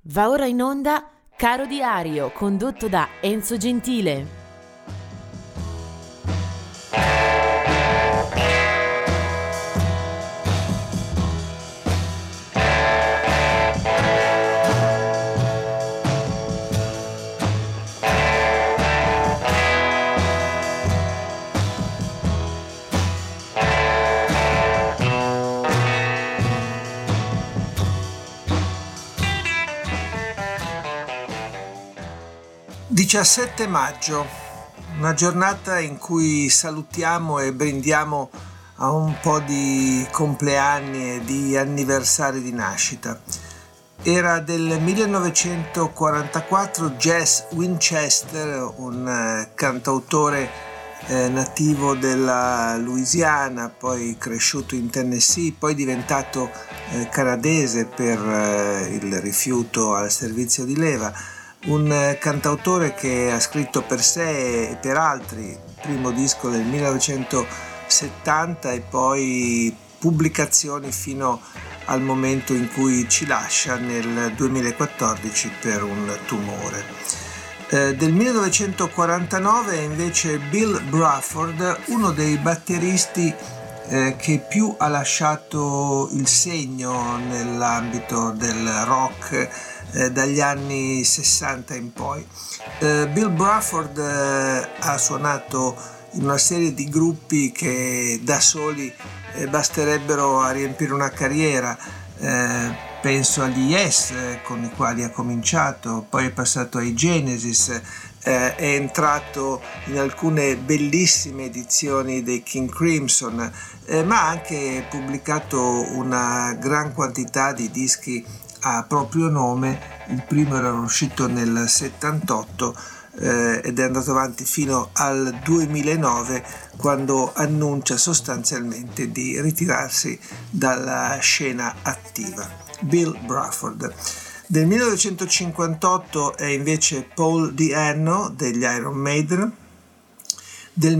Va ora in onda Caro Diario, condotto da Enzo Gentile. (17 maggio), una giornata in cui salutiamo e brindiamo a un po' di compleanni e di anniversari di nascita. Era del 1944 Jess Winchester, un cantautore nativo della Louisiana, poi cresciuto in Tennessee, poi diventato canadese per il rifiuto al servizio di leva. Un cantautore che ha scritto per sé e per altri, il primo disco del 1970 e poi pubblicazioni fino al momento in cui ci lascia nel 2014 per un tumore. Del 1949 invece Bill Bruford, uno dei batteristi che più ha lasciato il segno nell'ambito del rock dagli anni 60 in poi. Bill Bruford ha suonato in una serie di gruppi che da soli basterebbero a riempire una carriera. Penso agli Yes, con i quali ha cominciato, poi è passato ai Genesis, è entrato in alcune bellissime edizioni dei King Crimson, ma ha anche pubblicato una gran quantità di dischi a proprio nome. Il primo era uscito nel 78 ed è andato avanti fino al 2009, quando annuncia sostanzialmente di ritirarsi dalla scena attiva. Bill Bruford. Del 1958 è invece Paul Di'Anno degli Iron Maiden. Del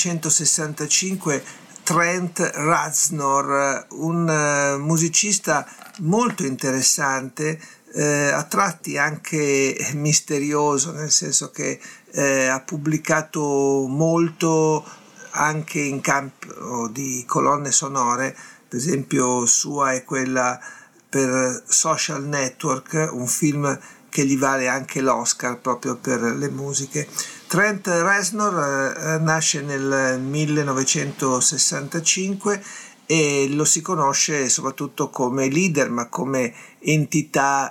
1965 Trent Reznor, un musicista molto interessante, a tratti anche misterioso, nel senso che ha pubblicato molto anche in campo di colonne sonore. Per esempio sua è quella per Social Network, un film che gli vale anche l'Oscar proprio per le musiche. Trent Reznor nasce nel 1965 e lo si conosce soprattutto come leader, ma come entità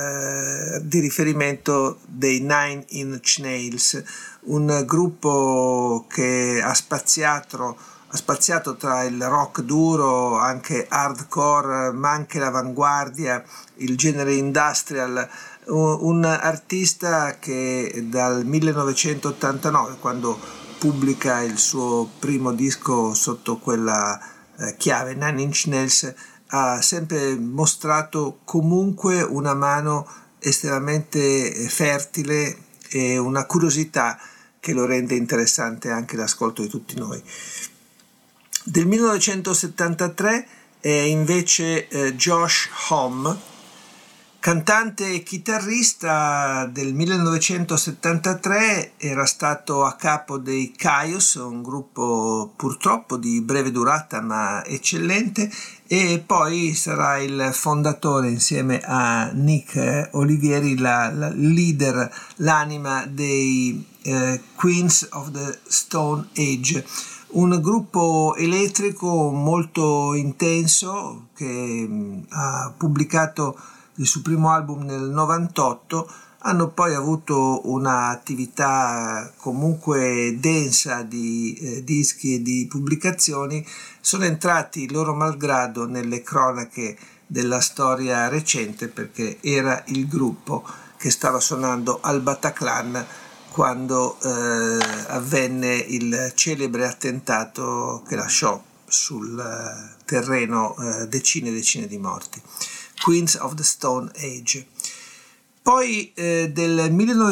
di riferimento dei Nine Inch Nails, un gruppo che ha spaziato tra il rock duro, anche hardcore, ma anche l'avanguardia, il genere industrial. Un artista che dal 1989, quando pubblica il suo primo disco sotto quella chiave, Nine Inch Nails, ha sempre mostrato comunque una mano estremamente fertile e una curiosità che lo rende interessante anche l'ascolto di tutti noi. Del 1973 è invece Josh Homme, cantante e chitarrista. Del 1973 era stato a capo dei Kyuss, un gruppo purtroppo di breve durata ma eccellente, e poi sarà il fondatore insieme a Nick Olivieri, la leader, l'anima dei Queens of the Stone Age, un gruppo elettrico molto intenso che ha pubblicato il suo primo album nel 98. Hanno poi avuto un'attività comunque densa di dischi e di pubblicazioni. Sono entrati loro malgrado nelle cronache della storia recente, perché era il gruppo che stava suonando al Bataclan quando avvenne il celebre attentato che lasciò sul terreno decine e decine di morti. Queens of the Stone Age. Poi del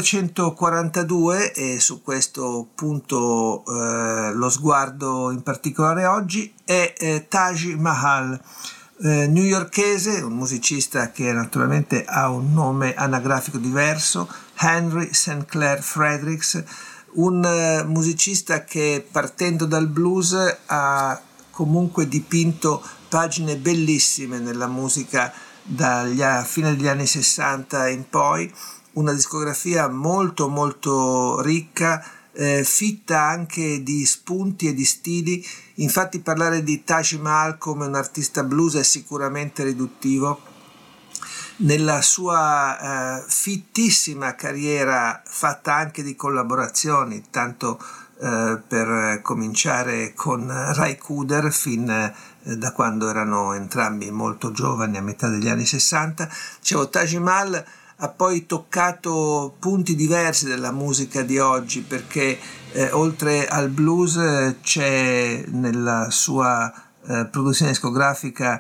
1942, e su questo punto lo sguardo in particolare oggi, è Taj Mahal, newyorkese, un musicista che naturalmente ha un nome anagrafico diverso, Henry St. Clair Fredericks, un musicista che partendo dal blues ha comunque dipinto pagine bellissime nella musica dalla fine degli anni 60 in poi, una discografia molto molto ricca, fitta anche di spunti e di stili. Infatti parlare di Taj Mahal come un artista blues è sicuramente riduttivo. Nella sua fittissima carriera, fatta anche di collaborazioni, tanto per cominciare con Ry Cooder fin da quando erano entrambi molto giovani, a metà degli anni 60, dicevo, Taj Mahal ha poi toccato punti diversi della musica di oggi, perché oltre al blues c'è nella sua produzione discografica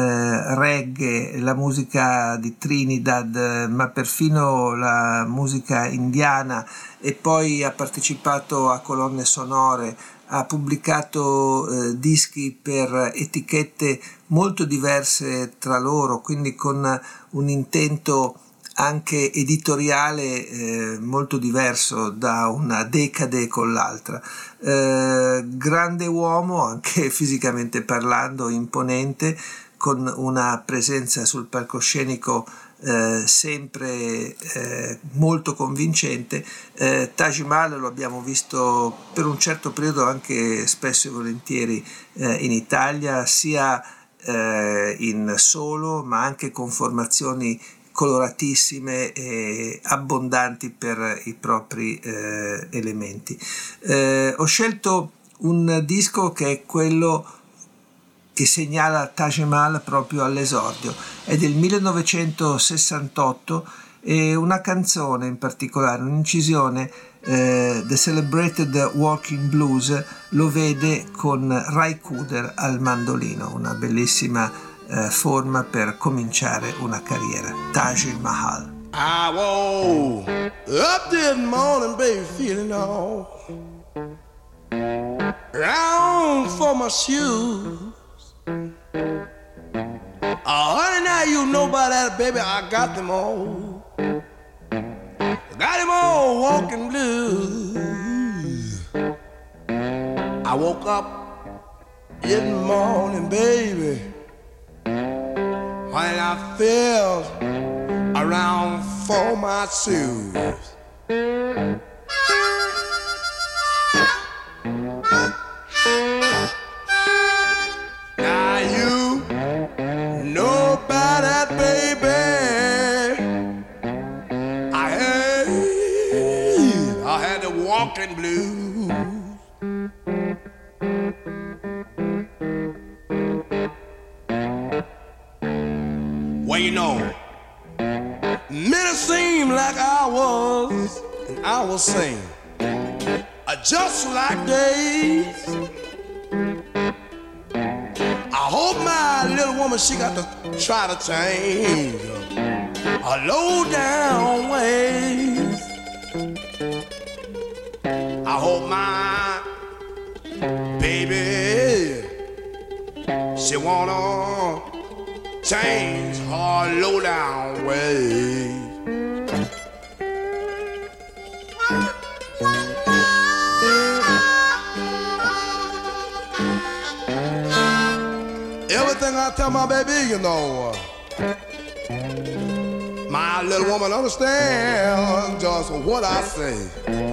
reggae, la musica di Trinidad, ma perfino la musica indiana, e poi ha partecipato a colonne sonore, ha pubblicato dischi per etichette molto diverse tra loro, quindi con un intento anche editoriale molto diverso da una decade con l'altra. Grande uomo, anche fisicamente parlando, imponente, con una presenza sul palcoscenico sempre molto convincente. Taj Mahal lo abbiamo visto per un certo periodo anche spesso e volentieri in Italia, sia in solo ma anche con formazioni coloratissime e abbondanti per i propri elementi. Ho scelto un disco che è quello che segnala Taj Mahal proprio all'esordio, è del 1968 e una canzone in particolare, un'incisione, The Celebrated Walking Blues, lo vede con Ry Cooder al mandolino, una bellissima forma per cominciare una carriera. Taj Mahal. I woke up this morning, baby, feeling all round for my shoes. Honey, now you know about that, baby, I got them all. Got them all walking blues. I woke up in the morning, baby, when I felt around for my shoes. Now you know about that, baby. I had the walking blues. Well, you know, minutes seem like hours, and hours seem just like days. I hope my little woman, she got to try to change her low down ways. I hope my baby, she wanna change her low down ways. Everything I tell my baby, you know, my little woman understands just what I say.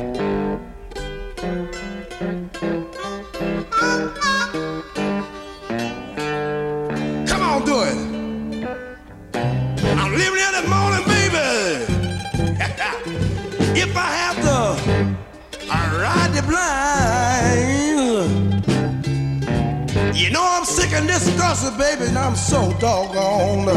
Come on, do it. I'm living here this morning, baby. If I have to ride the blind, you know I'm sick and disgusted, baby, and I'm so doggone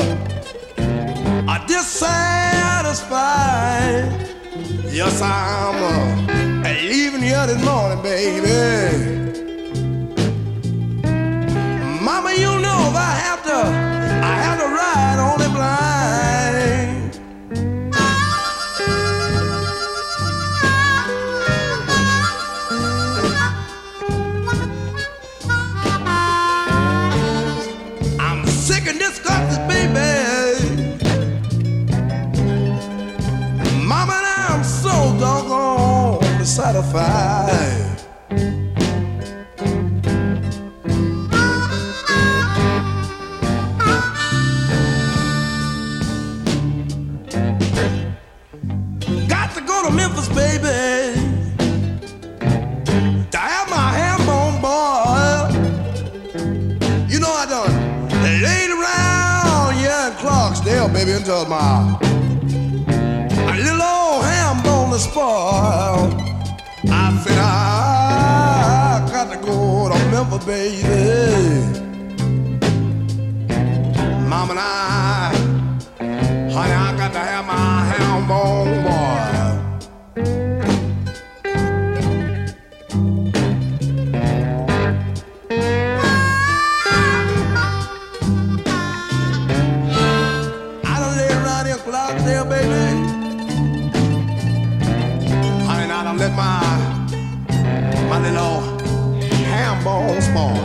dissatisfied. Yes, I'm leaving here this morning, baby. Mama, you know if I have to ride on the blind. I'm sick and satisfied. Got to go to Memphis, baby, to have my ham bone boiled. You know I done laid around here in Clarksdale, baby, until my little old ham bone is spoiled. I said I got to go to Memphis, baby. Mama and I, honey, I got to have my ham bone boiled. There, baby. Honey, now don't let my little ham bone spoil.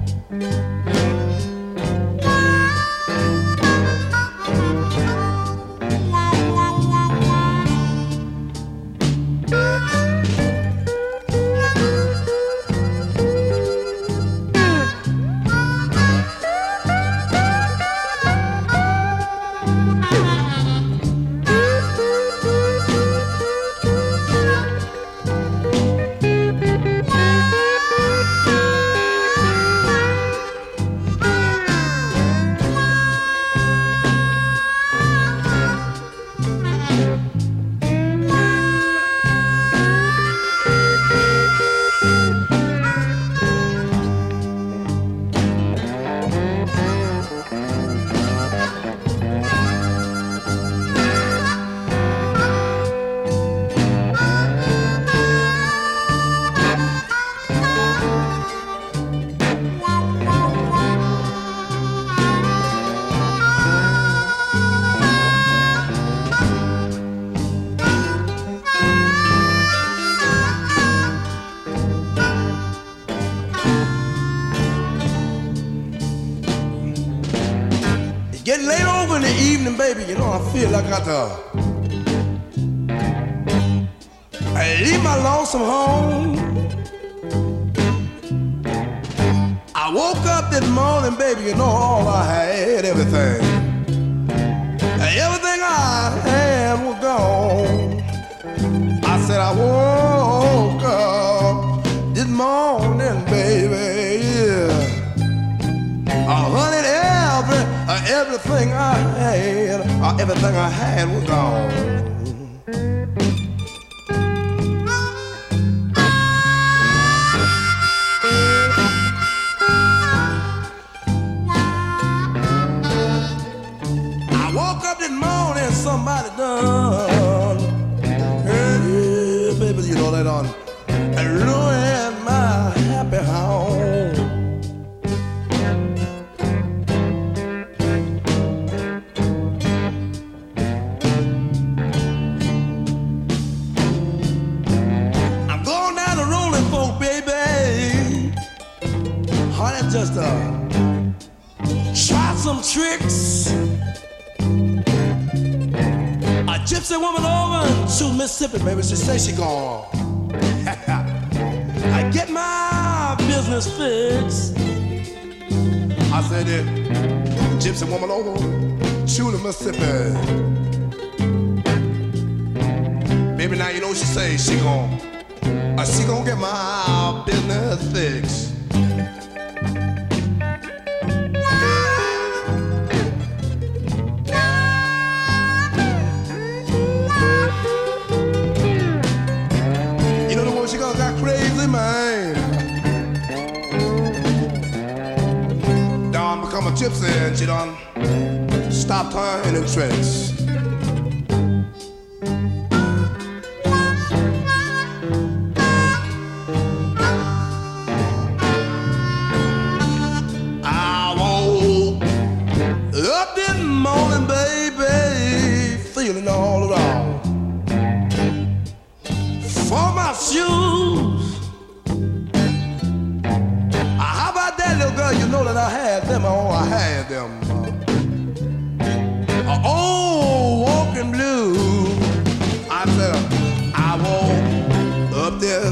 Getting late over in the evening, baby, you know, I feel like I got to leave my lonesome home. I woke up this morning, baby, you know, all I had, everything I had was gone. I said I woke up this morning, baby, yeah. Everything I had was gone. I woke up this morning, somebody done, hey, baby, you know they done ruined my happy home. Just try some tricks. A gypsy woman over to Mississippi, baby, she say she gone. I get my business fixed. I said it, gypsy woman over to the Mississippi. Baby, now you know what she say, she gonna get my business fixed. Become a gypsy and she done stopped turning tricks. I woke up this morning, baby, feeling all around for my shoes. How about that, little girl? You know that I had them. Oh, I had them. Old walking blue. I said, I woke up there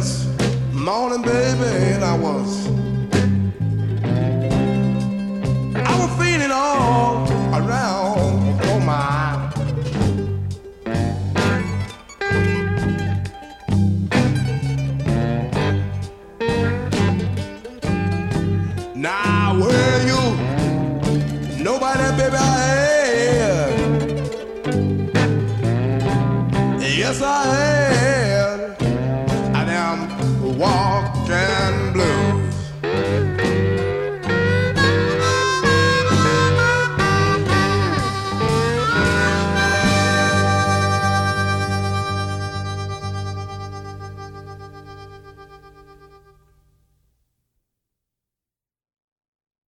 morning, baby, and I was feeling all around for my. Now where you? Nobody, baby, I had. Yes, I had.